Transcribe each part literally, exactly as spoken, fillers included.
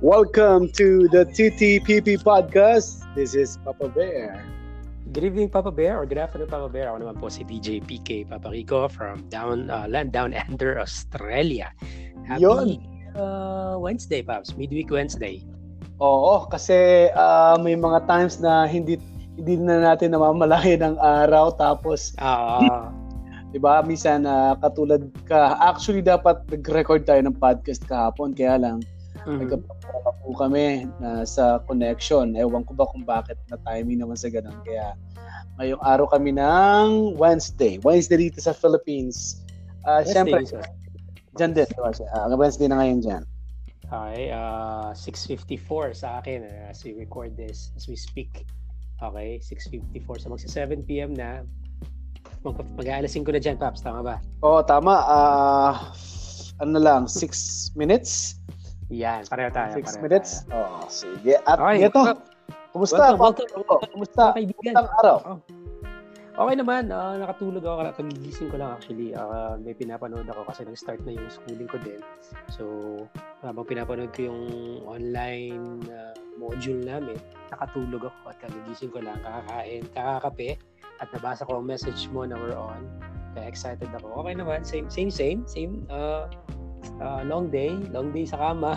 Welcome to the T T P P Podcast. This is Papa Bear. Good evening, Papa Bear, or good afternoon, Papa Bear. Ako naman po si D J P K Papa Rico from down uh, Land Down Under, Australia. Happy Yun. Uh, Wednesday, Paps. Midweek Wednesday. Oo, kasi uh, may mga times na hindi hindi na natin namamalayan ng araw tapos Ah, 'di ba? Minsan uh, katulad ka, actually dapat nag-record tayo ng podcast kahapon kaya lang mhm. nagkapapa po kami na sa connection. Ewan ko ba kung bakit na timing naman sa ganun. Kaya ngayong araw kami ng Wednesday. Wednesday dito sa Philippines. Uh, Wednesday, Siyempre, sir. dyan din. Uh, Wednesday na ngayon dyan. Okay, uh, six fifty-four sa akin uh, as we record this, as we speak. Okay, six fifty-four. So magsa seven p.m. na. Mag- Mag-aalasin ko na dyan, Paps. Tama ba? Oo, tama. Uh, ano lang, six minutes? Yan, pareho tayo. Six pareho minutes? tayo. Oo, sige. At Okay, ito, well, kumusta? welcome, welcome. Kumusta? Mga kaibigan. Kumusta ang araw? Okay naman, uh, nakatulog ako, kagigising ko lang actually. Uh, may pinapanood ako kasi nag-start na yung schooling ko din. So, habang pinapanood ko yung online uh, module namin, nakatulog ako at kagigising ko lang, kakakain, kakakape, at nabasa ko ang message mo na we're on. Kaya excited ako. Okay naman, same, same, same, same. Uh, uh, long day, long day sa kama.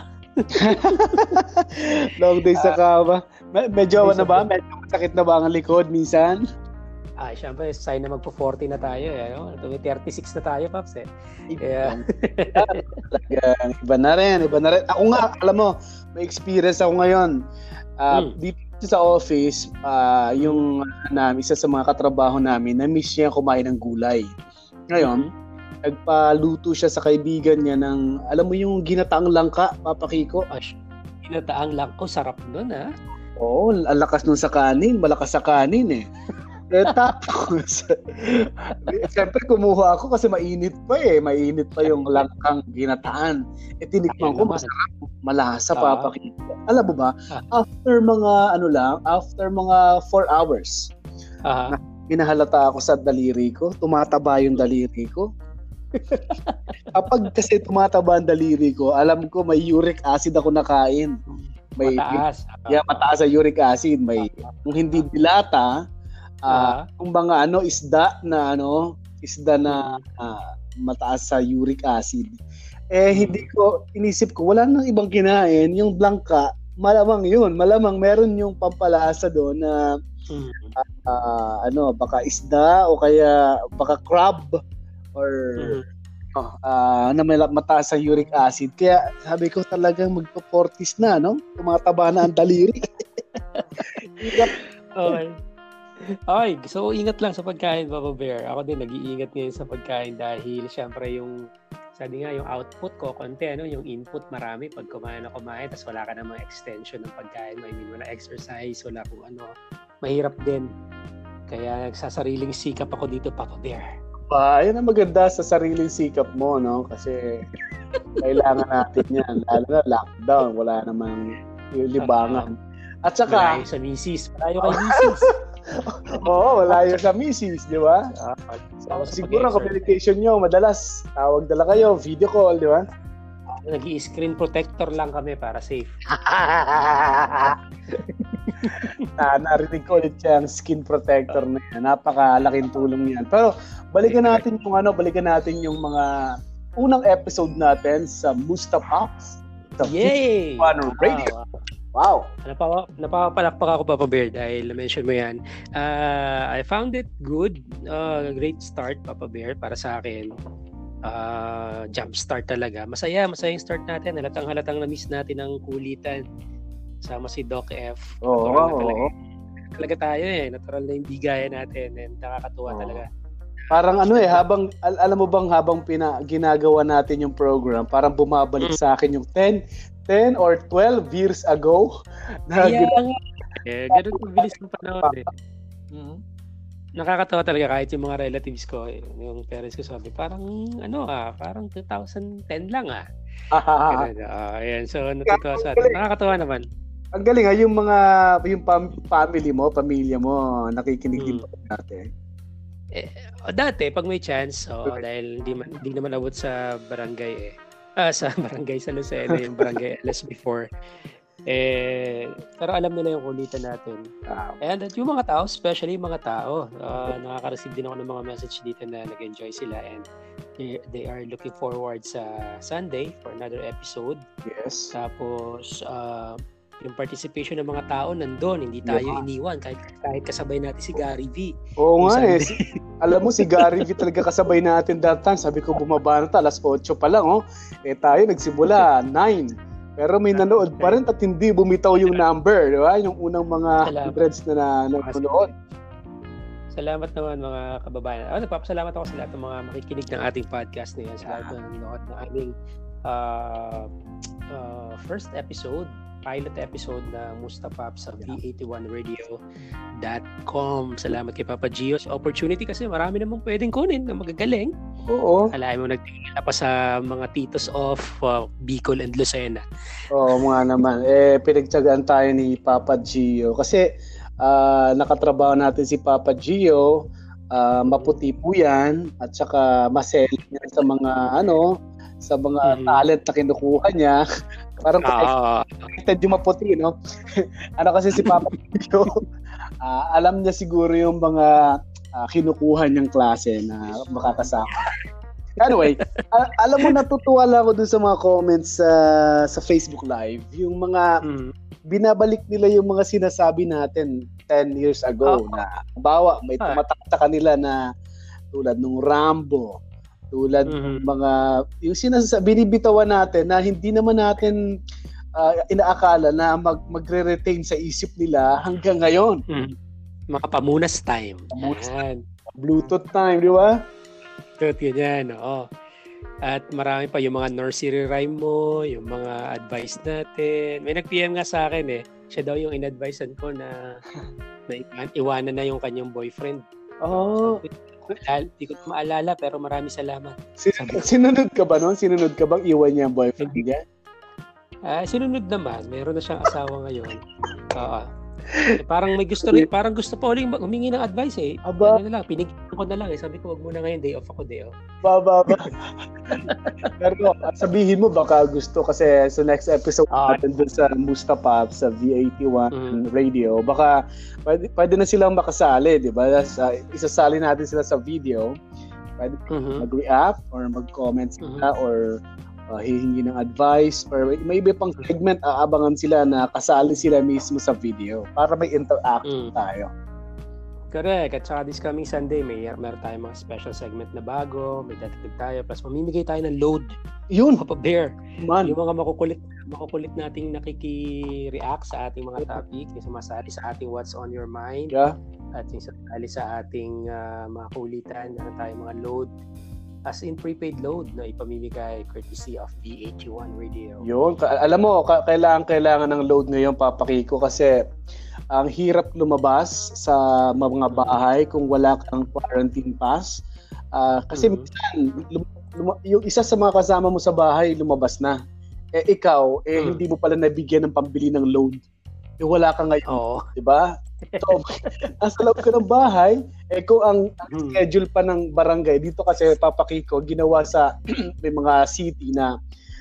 Long day sa kama. Me- medyo Long day ano sa ba? kama. Medyo masakit na ba ang likod minsan? Ah, syempre, sign na magpo-forty na tayo. Eh, no? thirty-six na tayo, Paps. Eh. Kaya, Talagang iba na rin, iba na rin. Ako nga, alam mo, may experience ako ngayon. Uh, Hmm. Dito sa office, uh, yung uh, namin, isa sa mga katrabaho namin, na-miss niya kumain ng gulay. Ngayon, nagpaluto siya sa kaibigan niya ng, alam mo yung ginataang langka, Papa Kiko? ah, sh- Ginataang lang. Oh, sarap nun, ha? Oo, ang lakas nun sa kanin, malakas sa kanin eh. Eh tapos, siyempre kumuha ako kasi mainit pa eh, mainit pa yung langkang ginataan. Eh tinikman ko, Ayun naman. masarap, malasa Ah. Papa Kiko. Alam mo ba, Ah. after mga ano lang, after mga four hours, Aha. hinahalata ako sa daliri ko, tumataba yung daliri ko. Kapag kasi tumataba ang daliri ko, alam ko may uric acid ako nakain. May Mataas. yeah, mataas sa uric acid, may kung hindi dilata, ah Ah. kung mga ano isda na ano, isda na ah, mataas sa uric acid. Eh hindi ko inisip ko wala nang ibang kinain, yung blanca, malamang 'yun, malamang meron yung pampalasa doon na Mm. ah, ano, baka isda o kaya baka crab or Mhm. oh, ah, na may mataas sa uric acid. Kaya sabi ko talagang magpo-forties na, no? Tumataba na ang daliri. Okay. Okay, so ingat lang sa pagkain, Papa Bear. Ako din nag-iingat ngayon sa pagkain dahil syempre yung sabi nga yung output ko konti, ano, yung input marami pag kumain na kumain tapos wala ka namang extension ng pagkain, I mean, wala exercise, wala kung ano, mahirap din. Kaya nagsasariling sikap ako dito, Papa Bear. Pa, yun ang maganda sa sariling sikap mo, no? Kasi kailangan natin yan. Lalo na lockdown, wala namang libangan. At saka, Malayo sa misis, malayo kay misis. oo, wala yun sa misis, di ba? Sama sa Siguro ang pag-exert. communication nyo, madalas, tawag dala kayo, video call, di ba? Nag-i-screen protector lang kami para safe. na, narinig ko ulit yung skin protector na yan. Napakalaking tulong yan. Pero balikan natin yung ano, balikan natin yung mga unang episode natin sa Musta Pops. Sa Yay! Fun Radio. Wow. Wow. Napaka, napakapalakpak ako, Papa Bear, dahil na-mention mo yan. Uh, I found it good. Uh, great start, Papa Bear, para sa akin. Uh, jump start talaga. Masaya, masaya yung start natin. Halatang halatang na-miss natin ang kulitan. Sama si Doc F. Oo, Natural na oo. talaga. Talaga tayo eh. Natural na yung bigayan natin. And nakakatuwa Oo. talaga. Parang ano eh, habang, al- alam mo bang habang pina, ginagawa natin yung program, parang bumabalik Mm. sa akin yung ten, ten or twelve years ago. Na Kaya gina- nga. Eh, ganun mabilis ng panahon eh. Mhm. Nakakatawa talaga kahit yung mga relatives ko, eh, yung parents ko sabi, parang ano ah, parang twenty ten lang ah. Ganun, ah, ayan, so natutuwa sa atin. Nakakatawa naman. Ang galing ha, yung mga, yung pam- family mo, pamilya mo, nakikinig din Mm. pa natin. Eh, o, dati, pag may chance, oh, dahil hindi, man, hindi naman abot sa barangay eh. Ah, sa barangay sa Lucena, yung barangay L S before. Eh, pero alam nila yung kulitan natin. Wow. And at yung mga tao, especially yung mga tao, uh, nakaka-receive din ako ng mga message dito na nag-enjoy sila and they, they are looking forward sa Sunday for another episode. Yes. Tapos, uh, yung participation ng mga tao nandun, hindi tayo Yeah. iniwan kahit, kahit kasabay natin si Gary V. Oo Yung nga eh. Sunday. Alam mo, si Gary V talaga kasabay natin that time. Sabi ko, bumaba na ta, alas otso pa lang, oh. Eh tayo, nagsimula, nine. Pero may nanood pa rin at hindi bumitaw yung number, di ba? Yung unang mga Salamat. hundreds na na- nanonood. Salamat naman mga kababayan. Oh, nagpapasalamat ako sa lahat ng mga makikinig ng ating podcast na yan. Sa lahat ng nanonood ng aming uh, uh, first episode, pilot episode na Mustapap sa v eighty-one radio dot com. Salamat kay Papa Gio sa opportunity kasi marami namang pwedeng kunin na magagaling. Oo. Alain mo nagtingin pa sa mga titos of uh, Bicol and Lucena. Oo mga naman. Eh, pinagtsagaan tayo ni Papa Gio. Kasi ah, nakatrabaho natin si Papa Gio. ah, maputi po yan. At saka maseli niya sa mga ano, sa mga Mhm. talent na kinukuha niya. Parang Ah, connected yung maputi, no? Ano kasi si Papa Gio, ah, alam niya siguro yung mga ah, kinukuha niyang klase na makakasama. Anyway, a- alam mo, natutuwa lang ako dun sa mga comments sa sa Facebook Live. Yung mga mm, binabalik nila yung mga sinasabi natin ten years ago Oh. na bawa may Ah. tumatak sa kanila na tulad nung Rambo, tulad ng Mhm. mga yung sinasabi binibitawan natin na hindi naman natin ah, inaakala na mag magre-retain sa isip nila hanggang ngayon. mm. Mga pamunas time. Pamunas Yan. Bluetooth time, di ba? Tot yun yan, oo. At marami pa yung mga nursery rhyme mo, yung mga advice natin. May nag-P M nga sa akin eh. Siya daw yung in-advisean ko na, na iwan- iwanan na yung kanyang boyfriend. Oh, Hindi ko na maalala pero marami salamat. sin- sinunod ka ba noon? Sinunod ka bang iwan niya ang boyfriend niya? Ah, sinunod naman. Meron na siyang asawa ngayon. Oo. Eh, parang may gusto rin, parang gusto pa uling humingi ng advice eh. Aba. Ano na lang, pinigyan ko na lang eh. Sabi ko, wag muna ngayon, day off ako, day off. Baba ba? Pero sabihin mo baka gusto kasi sa next episode Ah. natin dun sa Mustapap sa V eighty-one Mm. radio, baka pwede, pwede na silang makasali, di ba? Sa, isasali natin sila sa video. Pwede Mhm. mag-react or mag-comment sila or uh, hihingi ng advice or may iba pang segment, aabangan sila na kasali sila mismo sa video para may interaction Mm. tayo. Correct. At saka this coming Sunday, may meron tayong mga special segment na bago, may dadagdag tayo, plus mamimigay tayo ng load. Yun, Papa Bear. man. Yung mga makukulit, makukulit nating nakiki-react sa ating mga topic, yung sumasali sa ating What's on Your Mind, Yeah. at yung sumasali sa ating ah, mga kulitan, meron tayong mga load, as in prepaid load na ipamimigay courtesy of V eighty-one Radio. Yun, ka- alam mo, ka- kailangan kailangan ng load ngayon, Papa Kiko, kasi ang hirap lumabas sa mga bahay kung wala kang quarantine pass. Ah, kasi Mhm. minsan, lum- lum- yung isa sa mga kasama mo sa bahay lumabas na. Eh ikaw, eh Mm. hindi mo pala nabigyan ng pambili ng load. Eh wala ka ngayon, Oo. 'di ba? So, nasa loob ka ng bahay, eh kung ang, ang Mhm. schedule pa ng barangay, dito kasi Papa Kiko, ginawa sa may mga city na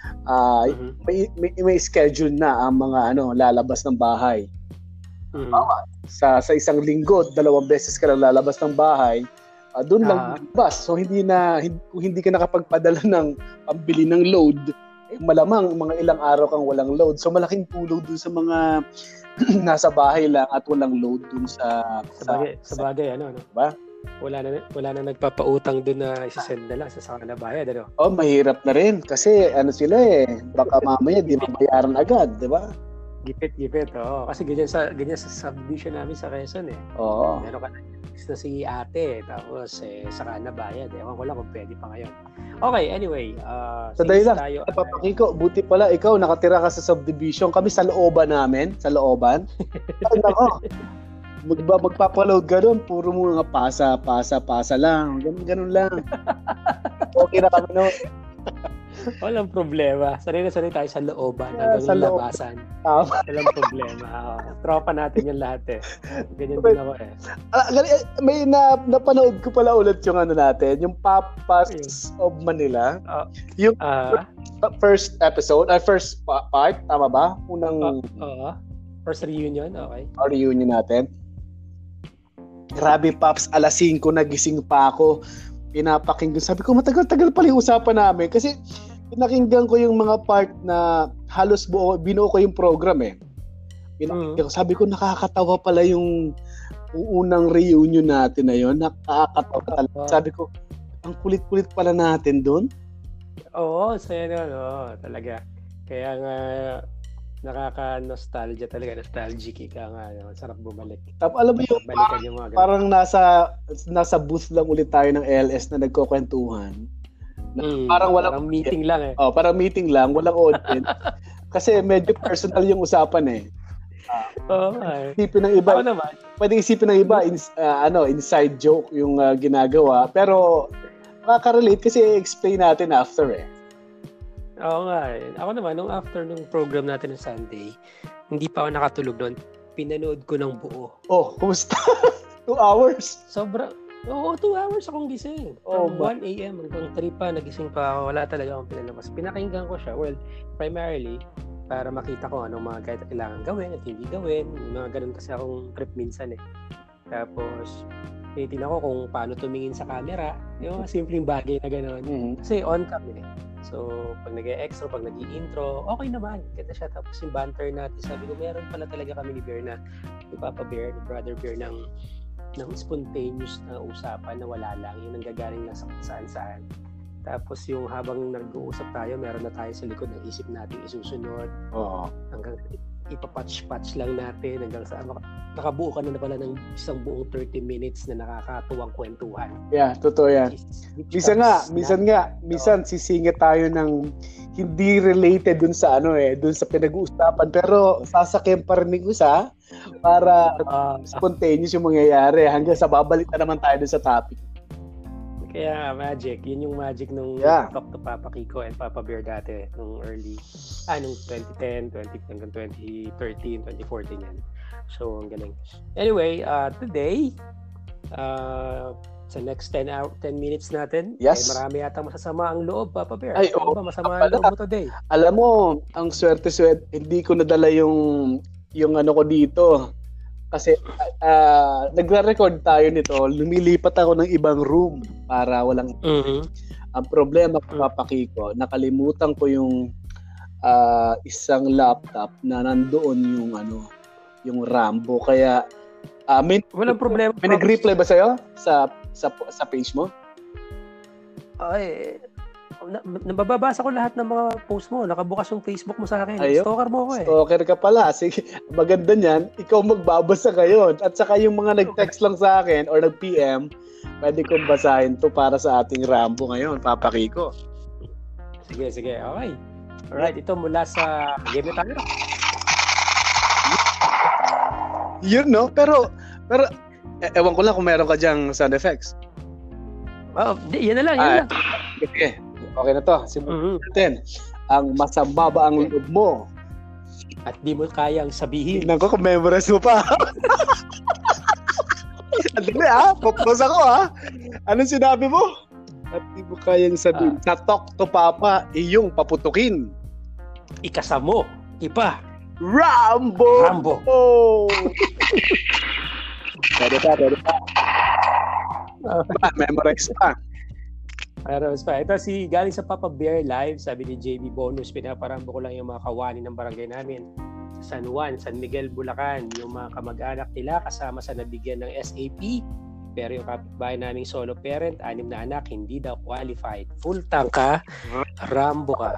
ah, Mhm. may, may, may schedule na ang mga ano lalabas ng bahay. Mhm. Sa sa isang linggo, dalawang beses ka lang lalabas ng bahay, ah, doon lang Ah. lalabas. So hindi na hindi, kung hindi ka nakapagpadala ng pambili ng load, eh, malamang mga ilang araw kang walang load. So malaking tulong dun sa mga nasa bahay lang at walang load dun sa Sa bagay, sa bagay ano, no? Diba? Wala na wala na nagpapautang doon na isasend na lang sa saka na bayad, ano? Oh, mahirap na rin kasi ano sila eh, baka mamaya di mabayaran agad, 'di ba? Gipit, gipit. Oo. Kasi ganyan sa ganyan sa subdivision namin sa Quezon eh. Oo. Meron ka na na si ate, tapos eh, saka na bayad. Ewan ko lang kung pwede pa ngayon. Okay, anyway. Uh, Sa dahil lang, Papa Kiko, buti pala ikaw nakatira ka sa subdivision, kami sa looban namin, sa looban. Ay, nako. Magba, magpapaload ka doon, puro mga pasa, pasa, pasa lang. Ganun, ganun lang. Okay na kami noon. Walang problema. Sanay na sanay tayo sa looban Yeah, hanggang sa loob. labasan. Tama. Walang problema. Oo. Tropa natin yung lahat eh. Ganyan din ako eh. Ah, gali- eh, may na, napanood ko pala ulit yung ano natin, yung Papas of Manila. Ah, Yung ah, first episode, uh, first pa- part, tama ba? Unang oo. First reunion, okay. reunion natin. Grabe, Paps, alas singko nagising pa ako. Pinapakinggan. Sabi ko, matagal-tagal pala yung usapan namin. Kasi pinakinggan ko yung mga part na halos buo, binuo ko yung program eh. Pinakinggan ko. Sabi ko, nakakatawa pala yung, yung unang reunion natin na yun. Nakakatawa talaga. Sabi ko, ang kulit-kulit pala natin doon. Oo, saya na, oo, talaga. Kaya nga, nakaka-nostalgia talaga, nostalgic ika nga, no? Sarap bumalik. Tapos alam mo yung Balikan parang, yung mga ganun. parang nasa nasa booth lang ulit tayo ng L S na nagkukwentuhan. Na, Mm, parang walang parang meeting lang eh. Oh, parang meeting lang, walang audience. Kasi medyo personal yung usapan eh. Oo nga eh. Isipin ng iba, Ako naman, pwede isipin ng iba ins, ah, ano, inside joke yung ah, ginagawa, pero makaka-relate kasi i-explain natin after eh. oo nga eh. Ako naman, nung after nung program natin ng Sunday, hindi pa ako nakatulog doon. Pinanood ko ng buo. Oh, kumusta? Two hours. Sobra, oo, two hours akong gising. Oh, From ba- one a.m. hanggang three pa, nagising pa ako. Wala talaga akong pinalabas. Pinakinggan ko siya. Well, primarily, para makita ko anong mga kailangan gawin at hindi gawin. Mga ganun kasi akong trip minsan eh. Tapos, tinitingnan ko kung paano tumingin sa camera. Yung mga simpleng bagay na gano'n. Mhm. Kasi on cam eh. So, pag nag-e-extra, pag nag-i-intro, okay naman. Ganda siya. Tapos yung banter natin, sabi ko, meron pala talaga kami ni Bear na, ni Papa Bear, ni Brother Bear, ng, ng spontaneous na usapan na wala lang. Yung nanggagaling lang sa saan-saan. Tapos yung habang nag-uusap tayo, meron na tayo sa likod ng isip natin isusunod. Oo. Hanggang ipapatch-patch lang natin hanggang sa nakabuo ka na, na pala ng isang buong thirty minutes na nakakatuwang kwentuhan. Yeah, totoo yan. Minsan nga, minsan nga, minsan sisingit tayo ng hindi related dun sa ano eh, dun sa pinag-uusapan, pero sasakyan pa rin ng isa para Uh, spontaneous yung mangyayari hanggang sa babalik na naman tayo dun sa topic. Kaya magic, yun yung magic nung Yeah. Talk to Papa Kiko and Papa Bear dati nung early, ah, nung twenty ten, twenty hanggang twenty thirteen, twenty fourteen yan. So, ang galing. Anyway, uh, today, uh, sa next ten hour, ten minutes natin, Yes. eh, marami yata masasama ang loob, Papa Bear. Ay, Ano oo. ba masama ang loob mo today? Alam mo, ang swerte-swerte, hindi ko nadala yung yung ano ko dito. Kasi uh, nagre-record tayo nito, lumilipat ako ng ibang room para walang Mm-hmm. ang problema ko, Papa Kiko, nakalimutan ko yung ah, isang laptop na nandoon yung ano, yung Rambo. Kaya ah, may, Walang problema. may nag-reply ba sa'yo sa sa sa page mo? Ay, na, nababasa ko lahat ng mga post mo. Nakabukas yung Facebook mo sa akin. Ayun. Stalker mo ako eh. Stalker ka pala. Sige, maganda niyan, ikaw magbabasa ngayon. At saka yung mga nag-text lang sa akin or nag-P M, pwede kong basahin to para sa ating Rambo ngayon, Papa Kiko. Sige, sige. Okay. Alright, ito mula sa game na tayo. Yun, no? Pero, pero, e- ewan ko lang kung meron ka dyang sound effects. Oh, di, yan na lang, yan Ah, lang. Okay, okay na to. Simulan Mhm. natin. Ang masama ba ang loob mo? At di mo kayang sabihin. Tingnan ko kung memorize mo pa. Andali ah, popos ako ah. Anong sinabi mo? At di mo kayang sabihin. Sa Talk to Papa, iyong paputukin. Ikasa mo. Ipa. Rambo! Rambo. Oh! Pwede pa, pwede pa. Pa, memorize pa. Pero pa. Ito si galing sa Papa Bear Live, sabi ni J B Bonus, pinaparambo ko lang yung mga kawani ng barangay namin. Sa San Juan, San Miguel, Bulacan, yung mga kamag-anak nila kasama sa nabigyan ng S A P. Pero yung kapitbahay naming solo parent, anim na anak, hindi daw qualified. Full tank ka, Rambo ka.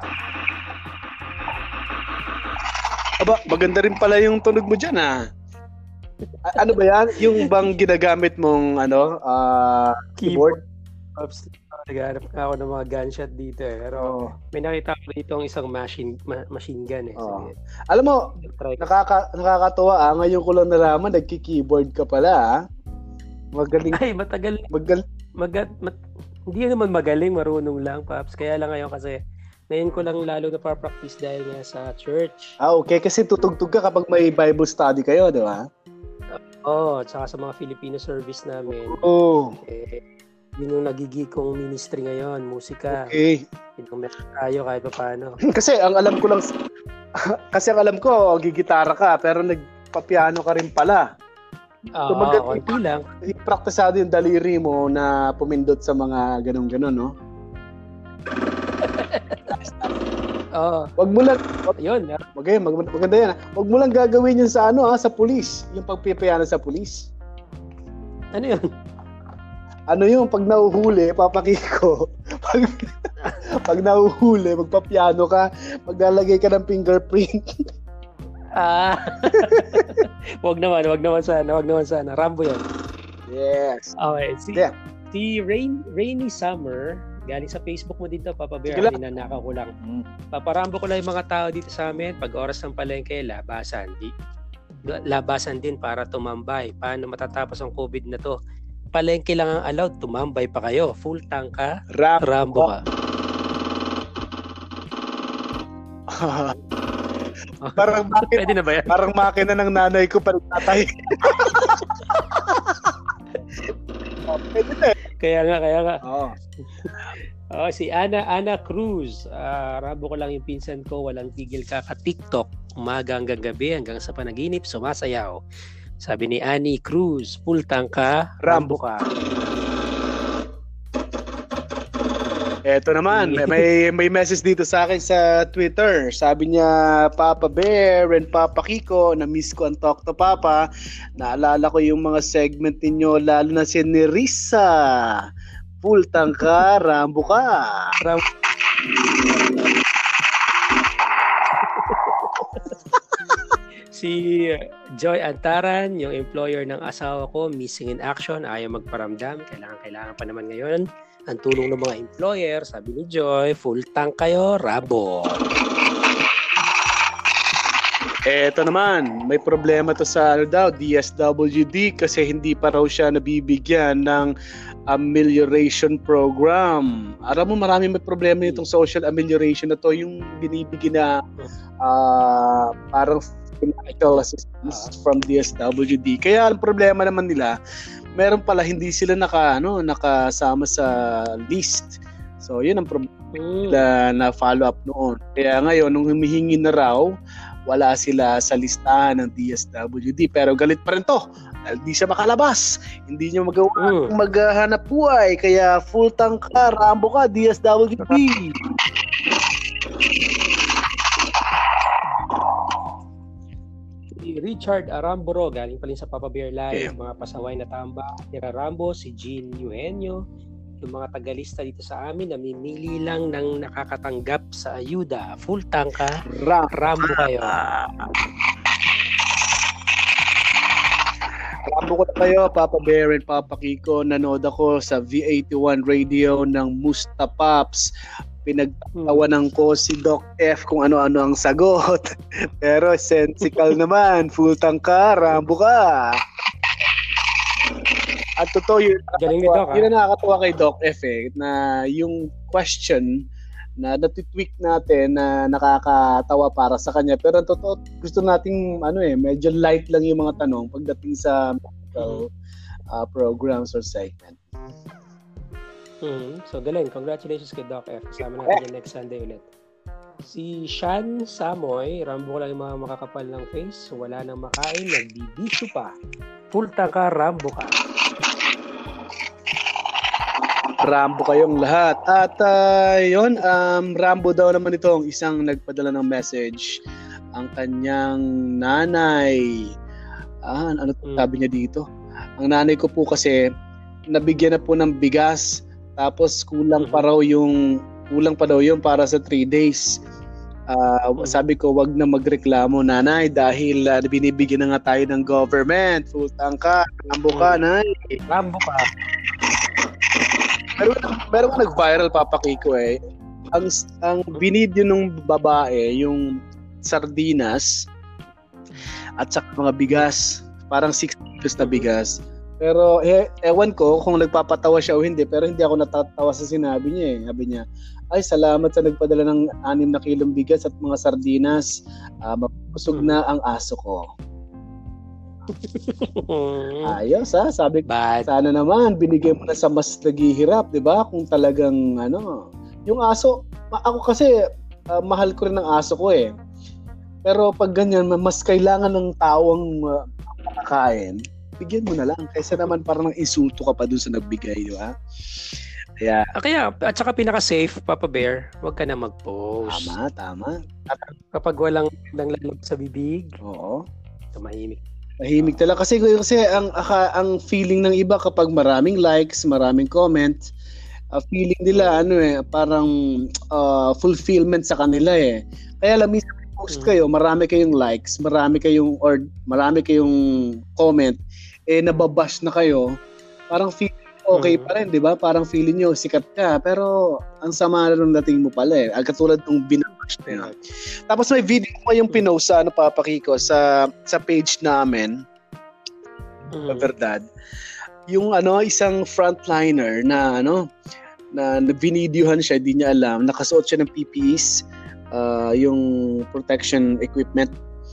Aba, maganda rin pala yung tunog mo dyan ah. A- ano ba yan? Yung bang ginagamit mong ano, ah, keyboard? Oops, naghanap ako ng mga gunshot dito eh. Pero Oh. may nakita ko dito ang isang machine ma- machine gun eh. Oh. Sige, Alam mo, try ko. nakaka nakakatuwa ah. Ngayon ko lang nalaman, nagki-keyboard ka pala ah. Magaling, Ay, matagal. magal. Magat, mat, hindi naman magaling, marunong lang, Paps. Kaya lang ngayon kasi Ngayon ko lang lalo na pa-practice dahil nga sa church. Ah, okay. Kasi tutugtog ka kapag may Bible study kayo, di ba? Oo, oh, at saka sa mga Filipino service namin. Oo. Oh. Eh, yun yung nagiging kong ministry ngayon, musika. Okay. Yun meron tayo kahit pa paano. Kasi ang alam ko lang, kasi ang alam ko, gigitara ka, pero nagpapiano ka rin pala. Oo, so, mag- konti lang. Praktisado yung daliri mo na pumindot sa mga ganun-ganun, no? Oo. Wag mo lang, wag, yun. Okay, mag, maganda yan. Wag mo lang gagawin yun sa ano, ha, sa pulis. Yung pagpipiano sa pulis. Ano yun? Ano yung pag nahuhuli, papakiko. Pag, pag nahuhuli, magpapiano ka, maglalagay ka ng fingerprint. Ah. wag naman, wag naman sana, wag naman sana. Rambo yan. Yes. Okay, si, yeah. si Rain, Rainy Summer, galing sa Facebook mo dito, Papa Bear, ninanakaw ko lang. Mm. Paparambo ko lang yung mga tao dito sa amin, pag oras ng palengke, labasan. Di, labasan din para tumambay. Paano matatapos ang COVID na to? Palengke lang ang allowed, tumambay pa kayo. Full tank ka, Ram- Rambo ka. Parang makina, pwede na ba yan? Parang makina ng nanay ko pa tatay. Oh, pwede na. Kaya nga, kaya nga. Oo. Oh, si Ana Ana Cruz. Uh, Rambo ko lang yung pinsan ko, walang tigil ka ka-TikTok. Umaga hanggang gabi, hanggang sa panaginip, sumasayaw. Sabi ni Annie Cruz, full tank ka, Rambo ka. Eto naman, may may message dito sa akin sa Twitter. Sabi niya, Papa Bear and Papa Kiko, na-miss ko ang Talk to Papa. Naalala ko yung mga segment ninyo, lalo na si Nerissa. Full tank ka, Rambo ka. Rambo. Si Joy Antaran, yung employer ng asawa ko, missing in action, ayaw magparamdam. Kailangan, kailangan pa naman ngayon ang tulong ng mga employer. Sabi ni Joy, full tank kayo, Rabo. Eto naman, may problema to sa ano daw, D S W D kasi hindi pa raw siya nabibigyan ng amelioration program. Alam mo, marami may problema nitong social amelioration na to, yung binibigyan na uh, parang financial assistance from D S W D. Kaya ang problema naman nila, meron pala hindi sila naka ano, nakasama sa list. So, yun ang problema nila na follow up noon. Kaya ngayon nung humihingi na raw, wala sila sa listahan ng D S W D. Pero galit pa rin to. Dahil di siya makalabas. Hindi niya magawa mm. maghahanap buhay. Kaya full tank ka, Rambo ka, D S W D. Richard Aramburo, galing pa rin sa Papa Bear Live, yeah. Mga pasaway na tamba, Tira Rambo, si Jean Eugenio, yung mga tagalista dito sa amin, namimili lang ng nakakatanggap sa ayuda. Full tank ka, Ram- Rambo kayo. Rambo ko na kayo, Papa Bear and Papa Kiko. Nanood ako sa V eighty-one radio ng Musta Pops. Pinagtawanan ko si Doc F kung ano-ano ang sagot. Pero sensical naman, full tank ka, Rambo ka. At totoo yun, galing ni Doc, yun na nakakatawa kay Doc F eh, na yung question na natitweak natin na nakakatawa para sa kanya. Pero totoo, gusto nating ano eh, medyo light lang yung mga tanong pagdating sa medical uh, programs or segment. Hmm. So, galing. Congratulations kay Doc F. Kasama natin yung next Sunday ulit. Si Shan Samoy, Rambo ko lang yung mga makakapal ng face. Wala nang makain, nagbibisyo pa. Full tanka, Rambo ka. Rambo kayong lahat. At uh, yun, um, Rambo daw naman ito ang isang nagpadala ng message. Ang kanyang nanay. Ah, ano hmm. sabi niya dito? Ang nanay ko po kasi nabigyan na po ng bigas. Tapos kulang pa raw yung kulang pa daw yun para sa three days. Uh, mm-hmm. Sabi ko, wag na magreklamo, nanay, dahil uh, binibigyan na nga tayo ng government. Full tank ka, Rambo ka, nay. Rambo ka. Pero meron ka nag-viral, Papa Kiko eh. Ang, ang binidyo ng babae, yung sardinas at saka mga bigas. Parang six kilos na bigas. Pero eh, ewan ko kung nagpapatawa siya o hindi, pero hindi ako natatawa sa sinabi niya eh. Sabi niya, Ay, salamat sa nagpadala ng anim na kilong bigas at mga sardinas. Uh, mapusog na ang aso ko. Ayos ha, sabi ko, sana naman binigay mo na sa mas naghihirap, 'di ba? Kung talagang ano, yung aso, ako kasi uh, mahal ko rin ang aso ko eh. Pero pag ganyan, mas kailangan ng tawang uh, makakain, bigyan mo na lang kaysa naman parang insulto ka pa dun sa nagbigay, di ba? Kaya, ah, kaya at saka pinaka-safe, Papa Bear, huwag ka na mag-post. Tama, tama. At kapag walang lang lamig sa bibig, oo, tumahimik. Mahimik talaga kasi kasi ang ang feeling ng iba kapag maraming likes, maraming comments, uh, feeling nila ano eh parang uh, fulfillment sa kanila eh. Kaya lang minsan post kayo, marami kayong likes, marami kayong or marami kayong comment, eh nababash na kayo. Parang feeling okay pa rin, 'di ba? Parang feeling nyo sikat ka, pero ang sama na ng dating mo pala eh. Katulad ng binabash na yun. Tapos may video ko yung pinost sa ano Papa Kiko sa sa page namin. Mm. Verdad. Yung ano isang frontliner na ano na binidyohan siya, di niya alam, nakasuot siya ng P P Es, uh, yung protection equipment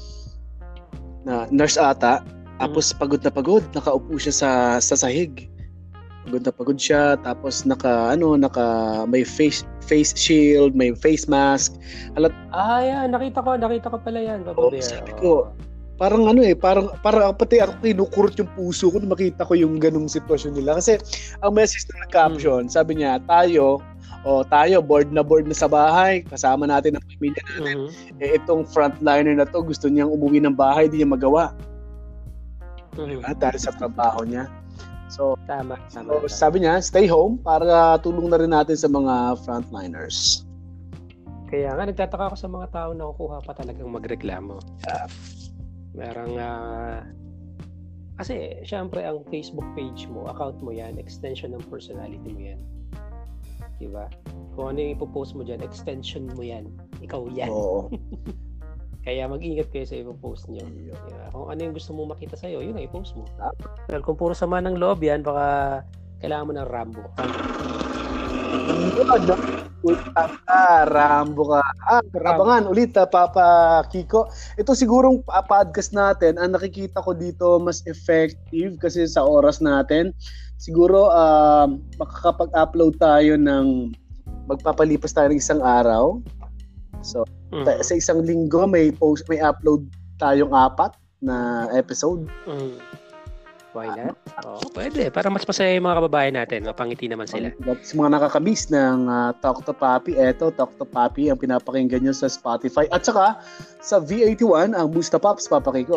na nurse ata. Tapos pagod na pagod, nakaupo siya sa sa sahig. Pagod na pagod siya, tapos naka ano naka may face face shield, may face mask. Alat ah yan, nakita ko, nakita ko pala yan, Papa Bear. Sabi ko, parang ano eh, parang parang pati ako kinukurot yung puso ko nung makita ko yung ganung sitwasyon nila kasi ang message na caption, hmm. sabi niya, tayo o oh, tayo bored na bored na sa bahay, kasama natin ang pamilya natin. Mm-hmm. Eh itong frontliner na to, gusto niyang umuwi ng bahay, di niya magawa. Mm-hmm. Diba? Dahil sa trabaho niya. So, tama, tama, so, sabi niya, stay home para tulong na rin natin sa mga frontliners. Kaya nga, nagtataka ako sa mga tao na kukuha pa talagang magreklamo. Yeah. Merang, uh, kasi, syempre, ang Facebook page mo, account mo yan, extension ng personality mo yan. Diba? Kung ano yung ipopost mo dyan, extension mo yan. Ikaw yan. Oo. Kaya mag-ingat kayo sa ipopost nyo. Diba? Kung ano yung gusto mo makita sa'yo, yun ang i-post mo. Well, kung puro sama ng loob yan, baka kailangan mo ng Rambo. Ah, Rambo ka. Ah, abangan ulit ha, Papa Kiko. Ito sigurong uh, podcast natin, ang nakikita ko dito mas effective kasi sa oras natin. Siguro uh, makakapag-upload tayo ng magpapalipas tayo ng isang araw. So, mm-hmm. sa isang linggo may post, may upload tayong apat na episode. Mm. Why not? Oh, pwede. Para mas masaya yung mga kababayan natin. Mapangiti naman sila. Sa mga nakakamiss ng uh, Talk to Papi, eto, Talk to Papi ang pinapakinggan nyo sa Spotify. At saka, sa V eighty-one, ang Busta Pops, Papa Kiko.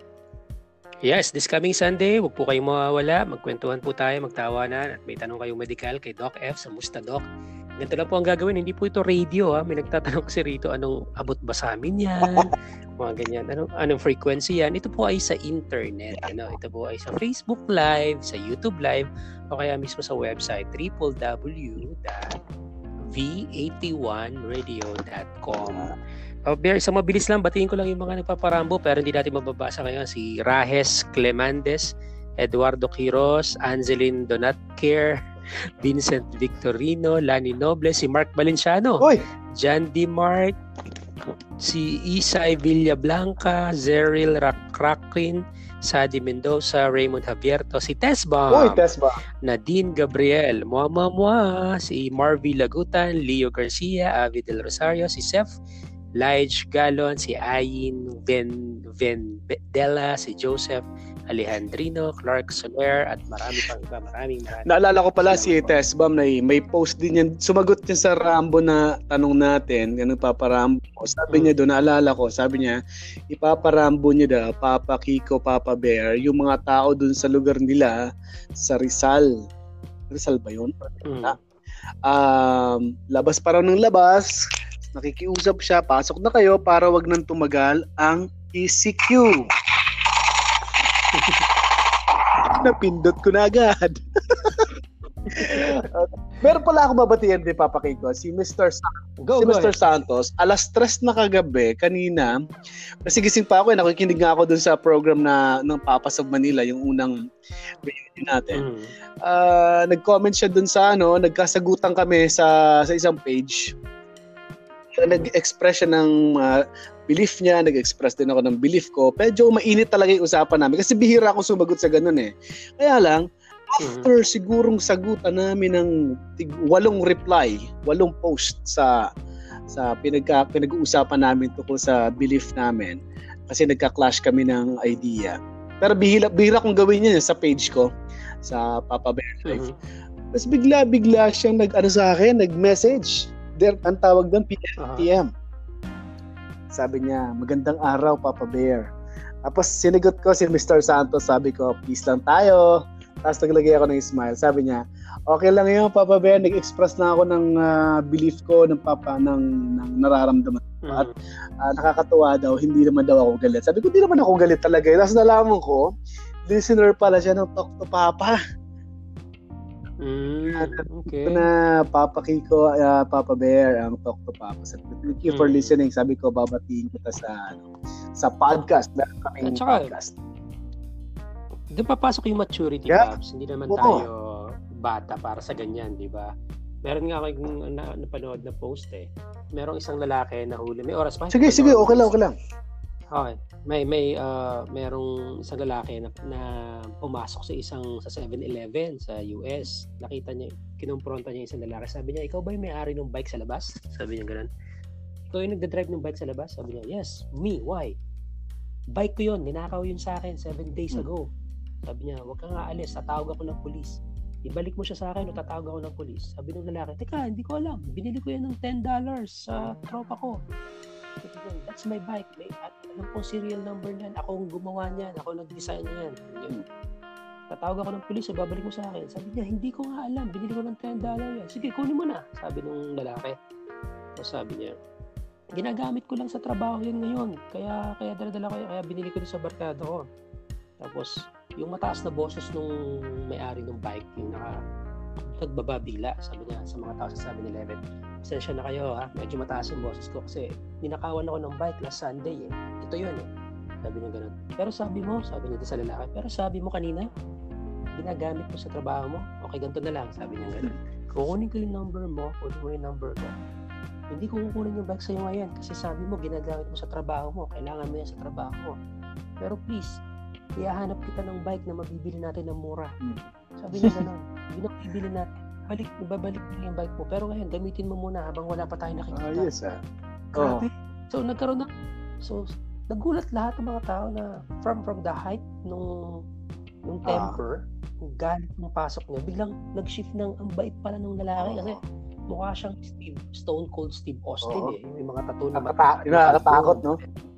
Yes, this coming Sunday, huwag po kayong mawawala. Magkwentuhan po tayo, magtawanan. At may tanong kayong medical kay Doc F sa Musta Doc. Ganito lang po ang gagawin. Hindi po ito radio. Ha? May nagtatanong kasi rito, anong abot ba sa amin yan? Mga ganyan. Anong, anong frequency yan? Ito po ay sa internet. Ano? Ito po ay sa Facebook Live, sa YouTube Live, o kaya mismo sa website w w w dot v eighty-one radio dot com. Uh, Bear, isang mabilis lang. Batiin ko lang yung mga nagpaparambo pero hindi natin mababasa ngayon. Si Rahes Clemandes, Eduardo Quiros, Angeline Donatcare, Vincent Victorino, Lani Noble, si Mark Valenciano, Oy! John D. Mark, si Isay Villablanca, Zeril Rakrakrin, Sadi Mendoza, Raymond Javierto, si Tesbam, Oy, Tesbam, Nadine Gabriel, Mua Mua Mua, si Marvy Lagutan, Leo Garcia, Avi Del Rosario, si Seth Lige Galon, si Ayin Ven Vendela, si Joseph Alejandrino, Clark Soler, at marami pang iba. Maraming maraming. Naalala ko pala si Tesbam na may post din yan. Sumagot niya sa Rambo na tanong natin, ganun paparambo. Sabi hmm. niya doon, naalala ko, sabi niya, ipaparambo niya daw, Papa Kiko, Papa Bear, yung mga tao doon sa lugar nila sa Rizal. Rizal ba yun? Hmm. Um, labas pa raw ng labas, nakikiusap siya, pasok na kayo para wag nang tumagal ang E C Q. Napindot ko na agad. Meron pala ako babatiin din, Papa Kiko. Si Mister Sa- Go, si go Mister ahead. Santos, alas tres na kagabi, kanina, kasi gising pa ako, eh, nakikinig nga ako dun sa program na ng Papas of Manila, yung unang reunion natin. Mm. Uh, nag-comment siya dun sa ano, nagkasagutan kami sa sa isang page. Nag-express siya ng uh, belief niya, nag-express din ako ng belief ko. Medyo mainit talaga yung usapan namin kasi bihira akong sumagot sa ganun eh. Kaya lang, after mm-hmm. sigurong sagutan namin ng tig- walong reply, walong post sa sa pinagka, pinag-uusapan namin tungkol sa belief namin kasi nagka-clash kami ng idea. Pero bihira, bihira kong gawin yun sa page ko, sa Papa Bear Life. Mm-hmm. Tapos bigla-bigla siyang nag-ano sa akin, nag-message. Der, ang tawag doon, P M. Uh-huh. P M. Sabi niya, magandang araw, Papa Bear. Tapos sinigot ko si Mister Santos, sabi ko, peace lang tayo. Tapos naglagay ako ng smile. Sabi niya, okay lang yun, Papa Bear. Nag-express na ako ng uh, belief ko, ng papa, ng, ng nararamdaman ko. Mm. At uh, nakakatuwa daw, hindi naman daw ako galit. Sabi ko, hindi naman ako galit talaga. Tapos nalaman ko, listener pala siya ng Talk to Papa. Mm, okay. Ito na Papa Kiko, uh, Papa Bear, ang Talk to Papa. So, thank you for mm. listening. Sabi ko, babatiin kita sa ano, sa podcast. Meron kaming podcast. Doon papasok yung maturity, yeah. Babs. Hindi naman Oo. tayo bata para sa ganyan, di ba? Meron nga akong na, napanood na post eh. Merong isang lalaki na huli. May oras pa? Sige, sige. Okay lang, okay lang. Okay. May, may, uh, merong isang lalaki na, na pumasok sa isang sa seven eleven sa U S. Nakita niya, kinumpronta niya isang lalaki. Sabi niya, ikaw ba yung may-ari ng bike sa labas? Sabi niya ganun. Ikaw yung nagdadrive ng bike sa labas? Sabi niya, yes. Me. Why? Bike ko yun. Ninakaw yun sa akin seven days hmm. ago. Sabi niya, huwag kang aalis, tatawag ako ng pulis. Ibalik mo siya sa akin o tatawag ako ng pulis. Sabi ng lalaki, teka, hindi ko alam. Binili ko yan ng ten dollars sa tropa ko. Sabi niya, that's my bike. May, at alam kong serial number niyan. Ako ang gumawa niyan. Ako nag-design niyan. Hmm. Tatawag ako ng pulis, babalik mo sa akin. Sabi niya, hindi ko nga alam. Binili ko ng ten dollars yan. Sige, kunin mo na. Sabi ng lalaki. So sabi niya, ginagamit ko lang sa trabaho yan ngayon. Kaya, kaya dala-dala ko yan. Kaya binili ko din sa barkada ko. Tapos, yung mataas na boses nung may-ari ng bike, yung naka nagbaba bigla, sabi niya sa mga tao sa seven eleven, pasensya na kayo ha, medyo mataas yung boses ko kasi ninakawan ako ng bike last Sunday eh. Ito yun eh. Sabi niya ganun. Pero sabi mo, sabi niya sa lalaki, pero sabi mo kanina, ginagamit mo sa trabaho mo, okay ganito na lang, sabi niya ganun. Kukunin ko yung number mo, kunin mo yung number ko. Hindi ko kukunin yung bike sa'yo ngayon kasi sabi mo, ginagamit mo sa trabaho mo, kailangan mo yan sa trabaho mo. Pero please, ihahanap kita ng bike na mabibili natin ng mura. Hmm. Sabi niya gano'n, hindi na mabibili natin. Balik, ibabalik mo yung bike mo. Pero ngayon, gamitin mo muna habang wala pa tayo nakikita. Oh, yes, ah. Grabe. Oh. So, nagkaroon na, so, nagulat lahat ng mga tao na from from the height nung, nung temper, ah. galit ng pasok niya, biglang nag-shift ng, ang bait pala ng lalaki. Oh. Kasi mukha siyang Steve, Stone Cold Steve Austin oh. eh. Yung mga tattoo na Nakata- nakakatakot, no?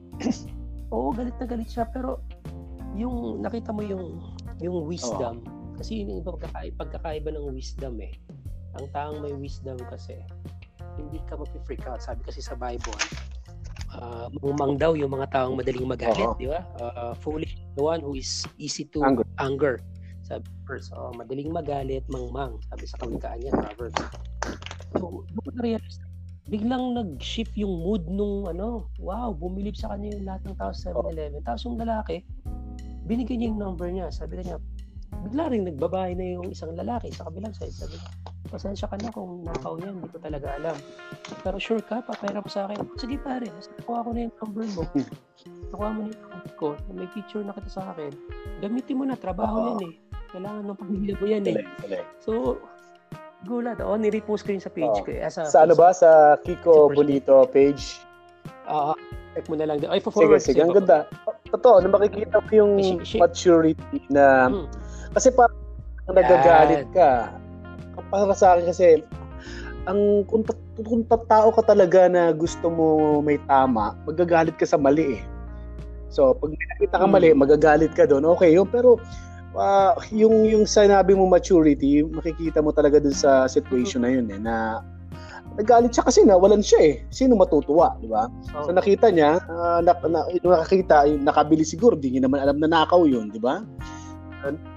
Oo, galit na galit siya. Pero, yung nakita mo yung yung wisdom oh. kasi yung pagkakaiba, pagkakaiba ng wisdom eh. Ang taong may wisdom kasi hindi ka mag-freak out. Sabi kasi sa Bible, uh, mumang daw yung mga taong madaling magalit, oh. di ba? Uh, foolish the one who is easy to anger. anger. Sabi first, oh, madaling magalit, mangmang. Sabi sa kawikaan niya, Proverbs. So, doon na-realize biglang nag-shift yung mood nung ano, wow, bumilib sa kanya yung lahat ng tao sa seven eleven. Oh. Tapos yung lalaki, binigyan niya yung number niya. Sabi niya, bigla rin nagbabahay na yung isang lalaki sa kabilang side. Sabi niya, pasensya ka na kung nakaw yan, hindi ko talaga alam. Pero sure ka, papayra ko sa akin. Sige pare, nakuha ko na yung number mo. Nakuha mo na yung number ko, may picture na kita sa akin. Gamitin mo na, trabaho uh-huh. yan eh. Kailangan ng pamilya mo yan eh. So, gulat. O, nirepost ko yun sa page uh-huh. ko. Eh, sa sa ano ba? Sa Kiko Bonito page? Oo. Uh, check mo na lang. Ay, sige, sige. Ang ganda. Totoo, na makikita mo yung she, she, maturity na hmm. kasi parang nagagalit ka. Para sa akin kasi ang kung, kung tao ka talaga na gusto mo may tama, magagalit ka sa mali eh. So, pag may nakita ka mali, hmm. magagalit ka doon. Okay, yun. Pero uh, yung yung sinabi mo maturity, makikita mo talaga dun sa situation hmm. na yun eh, na nagalit siya kasi nawalan siya eh. Sino matutuwa, di ba? Oh. So nakita niya, uh, na, na, nakakita, nakabili siguro, di niya naman alam na nakaw yun, di ba?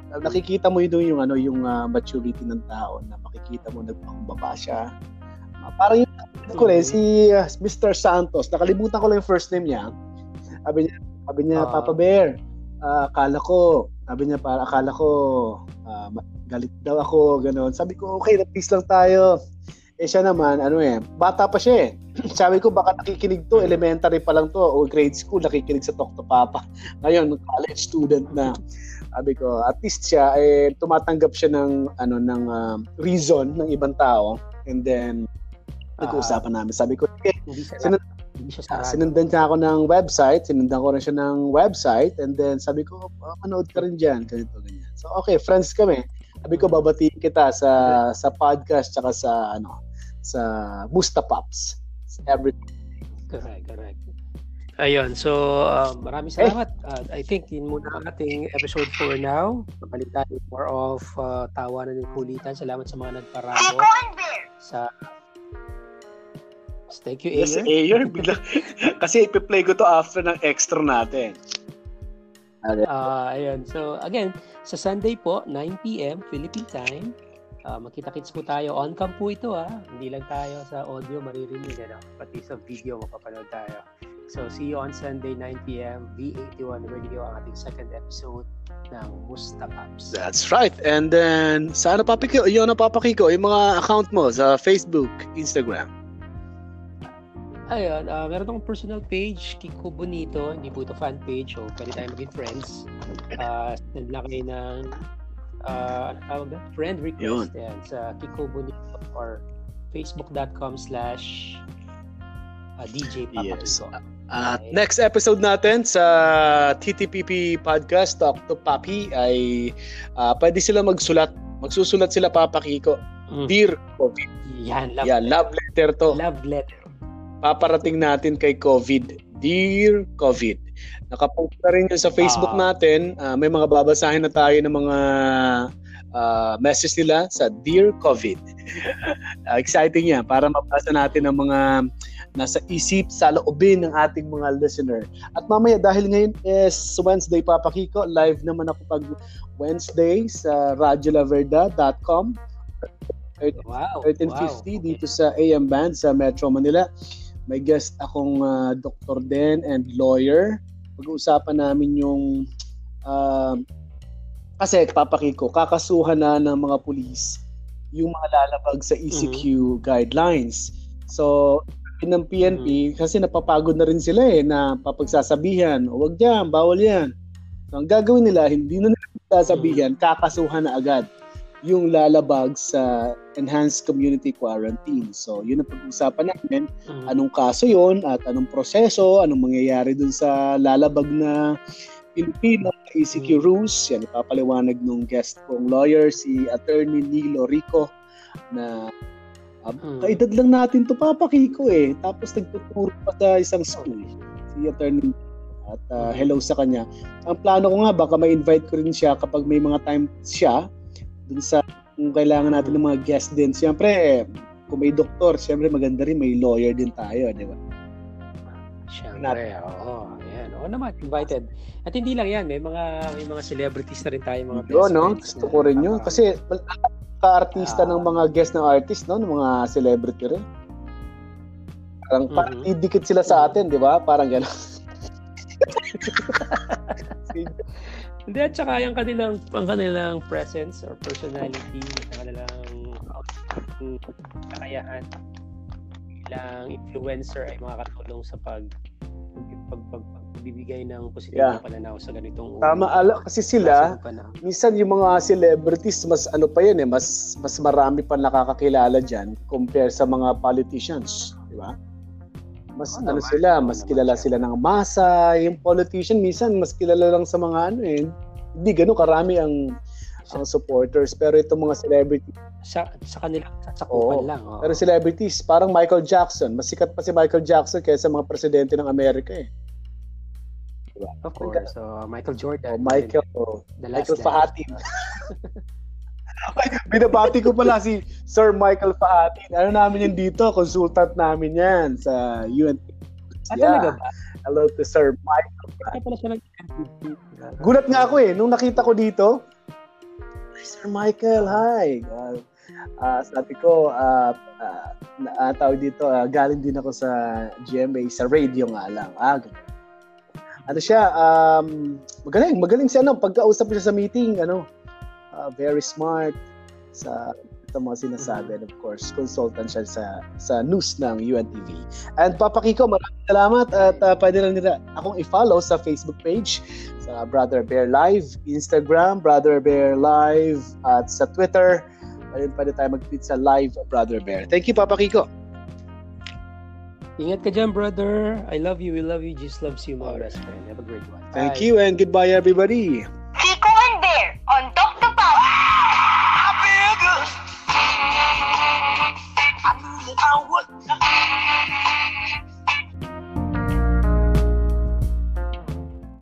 nakikita mo yun yung ano yung uh, maturity ng tao na makikita mo nagpakumbaba siya. Uh, parang yung ko rin si uh, Mister Santos, nakalimutan ko lang yung first name niya. Sabi niya, sabi niya uh, Papa Bear, uh, akala ko, sabi niya para akala ko uh, galit daw ako, gano'n. Sabi ko, okay, na-peace lang tayo. Eh siya naman, ano eh, bata pa siya eh. Sabi ko, baka nakikinig to, elementary pa lang to, o grade school, nakikinig sa Talk to Papa. Ngayon, college student na. Sabi ko, at least siya, eh, tumatanggap siya ng, ano, ng uh, reason ng ibang tao. And then, nag-uusapan namin. Sabi ko, okay, sinundan, sinundan niya ako ng website, sinundan ko rin siya ng website, and then sabi ko, oh, manood ka rin dyan, ganito, ganyan. So, okay, friends kami. Sabi ko, babatiin kita sa sa podcast tsaka sa ano sa Musta Pops. Everything. Correct, correct. Ayun, so uh, maraming salamat. Uh, I think yun muna ang ating episode for now. Kapalitan more of uh, tawanan ng kulitan. Salamat sa mga nagparabo. Sa Thank you, Ayer. Yes, Ayer. Kasi ipi-play ko to after ng extra natin. Uh, ayun. So, again, sa Sunday po, nine p.m. Philippine time, uh, magkita-kits po tayo. On-cam po ito, ah. Hindi lang tayo sa audio maririnig, ano? Pati sa video mapapanood tayo. So, see you on Sunday, nine p.m. V eighty-one Radio, ang ating second episode ng Musta Pops. That's right. And then, sa ano papakiko? Yun ang papakiko, yung mga account mo sa Facebook, Instagram. Ayun, uh, meron akong personal page, Kiko Bonito, hindi po ito fan page, so pwede tayo maging friends. Uh, send lang kayo ng, uh, ano tawag na? Friend request. Yan, sa Kiko Bonito or facebook.com slash DJ Papa Yes. Kiko. At uh, next episode natin sa T T P P Podcast, Talk to Papi, ay uh, pwede sila magsulat. Magsusulat sila, Papa Kiko. Mm. Dear COVID. Yan, love, yeah, love letter to. Love letter. Paparating natin kay COVID. Dear COVID. Nakapost na rin yun sa Facebook uh, natin. Uh, may mga babasahin na tayo ng mga uh, message nila sa Dear COVID. uh, exciting yan para mabasa natin ang mga nasa isip sa loobin ng ating mga listener. At mamaya, dahil ngayon is Wednesday, Papa Kiko, live naman ako pag Wednesday sa radyo la verda dot com. Wow, thirteen fifty wow. Dito sa A M Band sa Metro Manila. May guest akong uh, doktor din and lawyer. Pag-uusapan namin yung uh, kasi Papa Kiko, kakasuhan na ng mga pulis yung mga lalabag sa E C Q mm-hmm. guidelines. So, ng P N P, mm-hmm. kasi napapagod na rin sila eh, na papagsasabihan, huwag dyan, bawal yan. So, ang gagawin nila, hindi na nila sasabihan, mm-hmm. kakasuhan na agad yung lalabag sa enhanced community quarantine. So, yun ang pag-usapan namin. Mm-hmm. Anong kaso yun at anong proseso, anong mangyayari dun sa lalabag na Pilipino E C Q mm-hmm. rules. Yan, ipapaliwanag nung guest kong lawyer, si Attorney Nilo Rico, na uh, mm-hmm. kaedad lang natin to, Papa Kiko eh. Tapos nagtuturo pa sa isang school. Si Attorney at uh, hello sa kanya. Ang plano ko nga, baka ma-invite ko rin siya kapag may mga time siya dun sa kung kailangan natin ng mga guest din. Siyempre, eh, kung may doktor, siyempre maganda rin, may lawyer din tayo, di ba? Siyempre, oo. Ayan. Oo naman, invited. At hindi lang yan, may mga may mga celebrities na rin tayo, mga best no? Gusto ko rin yun. Kasi, ka-artista uh, ng mga guest ng artist, no? Ng mga celebrity rin. Parang mm-hmm. parang idikit sila sa atin, di ba? Parang gano'n. Hindi, at saka yung kanilang, ang kanilang presence or personality, ang kanilang kakayahan bilang influencer ay makakatulong sa pag pag, pag, pagbibigay ng positibong yeah. pananaw sa ganitong tama, ala, kasi sila minsan yung mga celebrities mas ano pa yun eh, mas mas marami pa nakakakilala diyan compare sa mga politicians, di ba? Mas oh, ano naman, sila, mas naman kilala siya. Sila ng masa. Yung politician minsan mas kilala lang sa mga ano eh. Hindi gano'n karami ang ang supporters, pero itong mga celebrity sa sa kanila sa kupan lang. Oh. Pero celebrities, parang Michael Jackson, mas sikat pa si Michael Jackson kaysa mga presidente ng Amerika eh. Diba? Of course. So Michael Jordan, oh, Michael, oh, Michael Fahatin. Binabati ko pala si Sir Michael Fahatin. Ano namin yan dito? Consultant namin yan sa U N T. Ah, yeah. Talaga ba? Hello to Sir Michael. Ay, pala siya ng Gulat nga ako eh. Nung nakita ko dito, Sir Michael, hi! Uh, uh, sabi ko, uh, uh, uh, tawag dito, uh, galing din ako sa G M A, sa radio nga lang. Ah, ano siya, um, magaling, magaling siya, ano, pagkausap siya sa meeting, ano, uh, very smart sa sa mga sinasabi. And of course, consultant siya sa sa news ng U N T V. And Papa Kiko, maraming salamat at uh, pwede lang nila akong i-follow sa Facebook page, sa Brother Bear Live, Instagram, Brother Bear Live, at sa Twitter. Pwede, pwede tayo mag-tweet sa Live Brother Bear. Thank you, Papa Kiko. Ingat ka dyan, brother. I love you. We love you. Jesus loves you, my best friend. Have a great one. Thank Bye. you and goodbye, everybody.